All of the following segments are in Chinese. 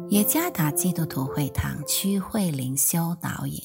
耶加达基督徒会堂区会灵修导引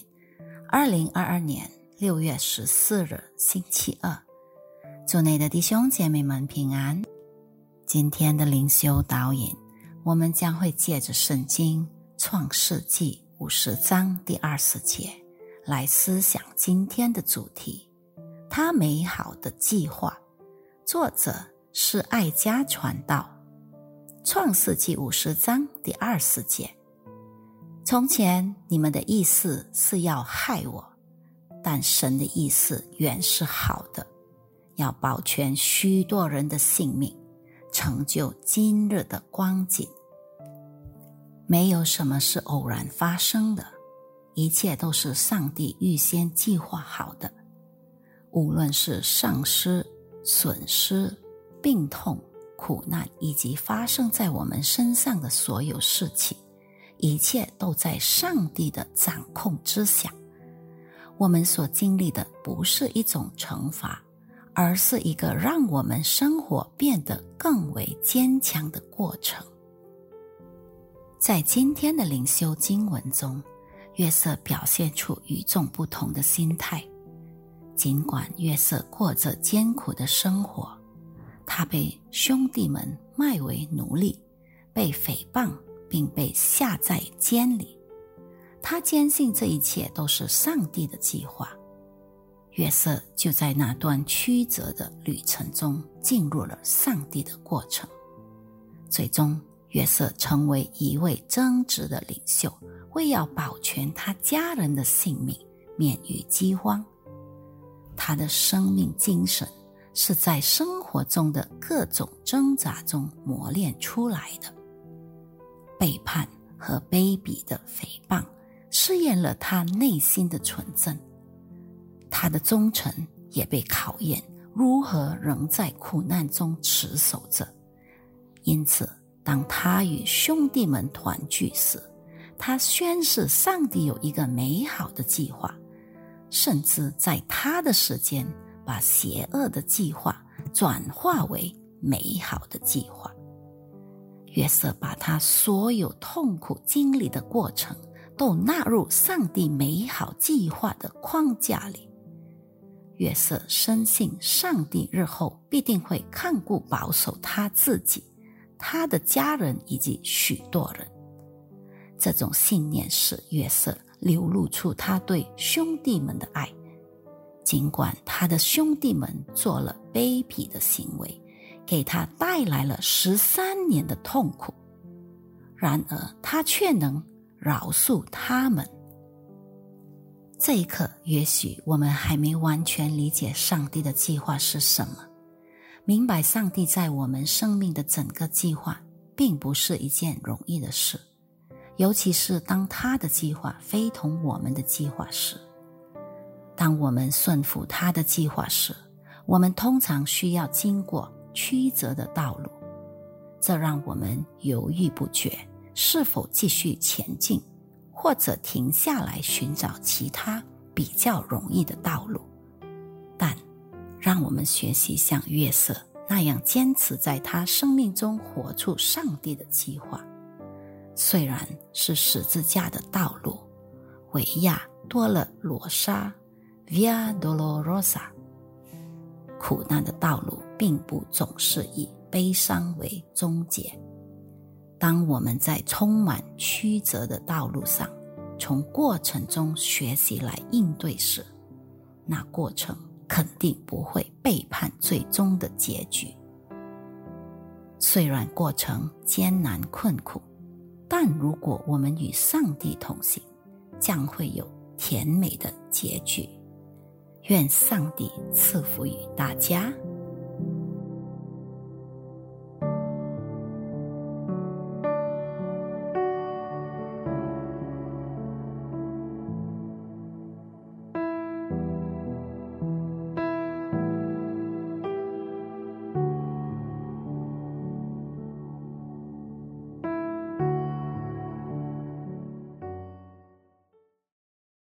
2022年6月14日星期二，主内的弟兄姐妹们平安。今天的灵修导引，我们将会借着圣经创世纪50章第20节来思想今天的主题，他美好的计划。作者是爱家传道。创世纪50章第20节，从前你们的意思是要害我，但神的意思原是好的，要保全许多人的性命，成就今日的光景。没有什么是偶然发生的，一切都是上帝预先计划好的。无论是丧失、损失、病痛、苦难以及发生在我们身上的所有事情，一切都在上帝的掌控之下。我们所经历的不是一种惩罚，而是一个让我们生活变得更为坚强的过程。在今天的灵修经文中，约瑟表现出与众不同的心态。尽管约瑟过着艰苦的生活，他被兄弟们卖为奴隶，被诽谤，并被下在监里。他坚信这一切都是上帝的计划。约瑟就在那段曲折的旅程中进入了上帝的过程。最终，约瑟成为一位正直的领袖，为要保全他家人的性命，免于饥荒。他的生命精神是在生活中的各种挣扎中磨练出来的。背叛和卑鄙的诽谤试验了他内心的纯正，他的忠诚也被考验，如何仍在苦难中持守着。因此，当他与兄弟们团聚时，他宣示上帝有一个美好的计划，甚至在他的时间把邪恶的计划转化为美好的计划。约瑟把他所有痛苦经历的过程都纳入上帝美好计划的框架里。约瑟深信上帝日后必定会看顾保守他自己、他的家人以及许多人。这种信念使约瑟流露出他对兄弟们的爱，尽管他的兄弟们做了卑鄙的行为，给他带来了13年的痛苦，然而他却能饶恕他们。这一刻，也许我们还没完全理解上帝的计划是什么。明白上帝在我们生命的整个计划并不是一件容易的事，尤其是当他的计划非同我们的计划时。当我们顺服他的计划时，我们通常需要经过曲折的道路，这让我们犹豫不决，是否继续前进，或者停下来寻找其他比较容易的道路。但让我们学习像约瑟那样坚持在他生命中活出上帝的计划。虽然是十字架的道路，维亚多勒罗莎 Via Dolorosa， 苦难的道路并不总是以悲伤为终结。当我们在充满曲折的道路上，从过程中学习来应对时，那过程肯定不会背叛最终的结局。虽然过程艰难困苦，但如果我们与上帝同行，将会有甜美的结局。愿上帝赐福于大家。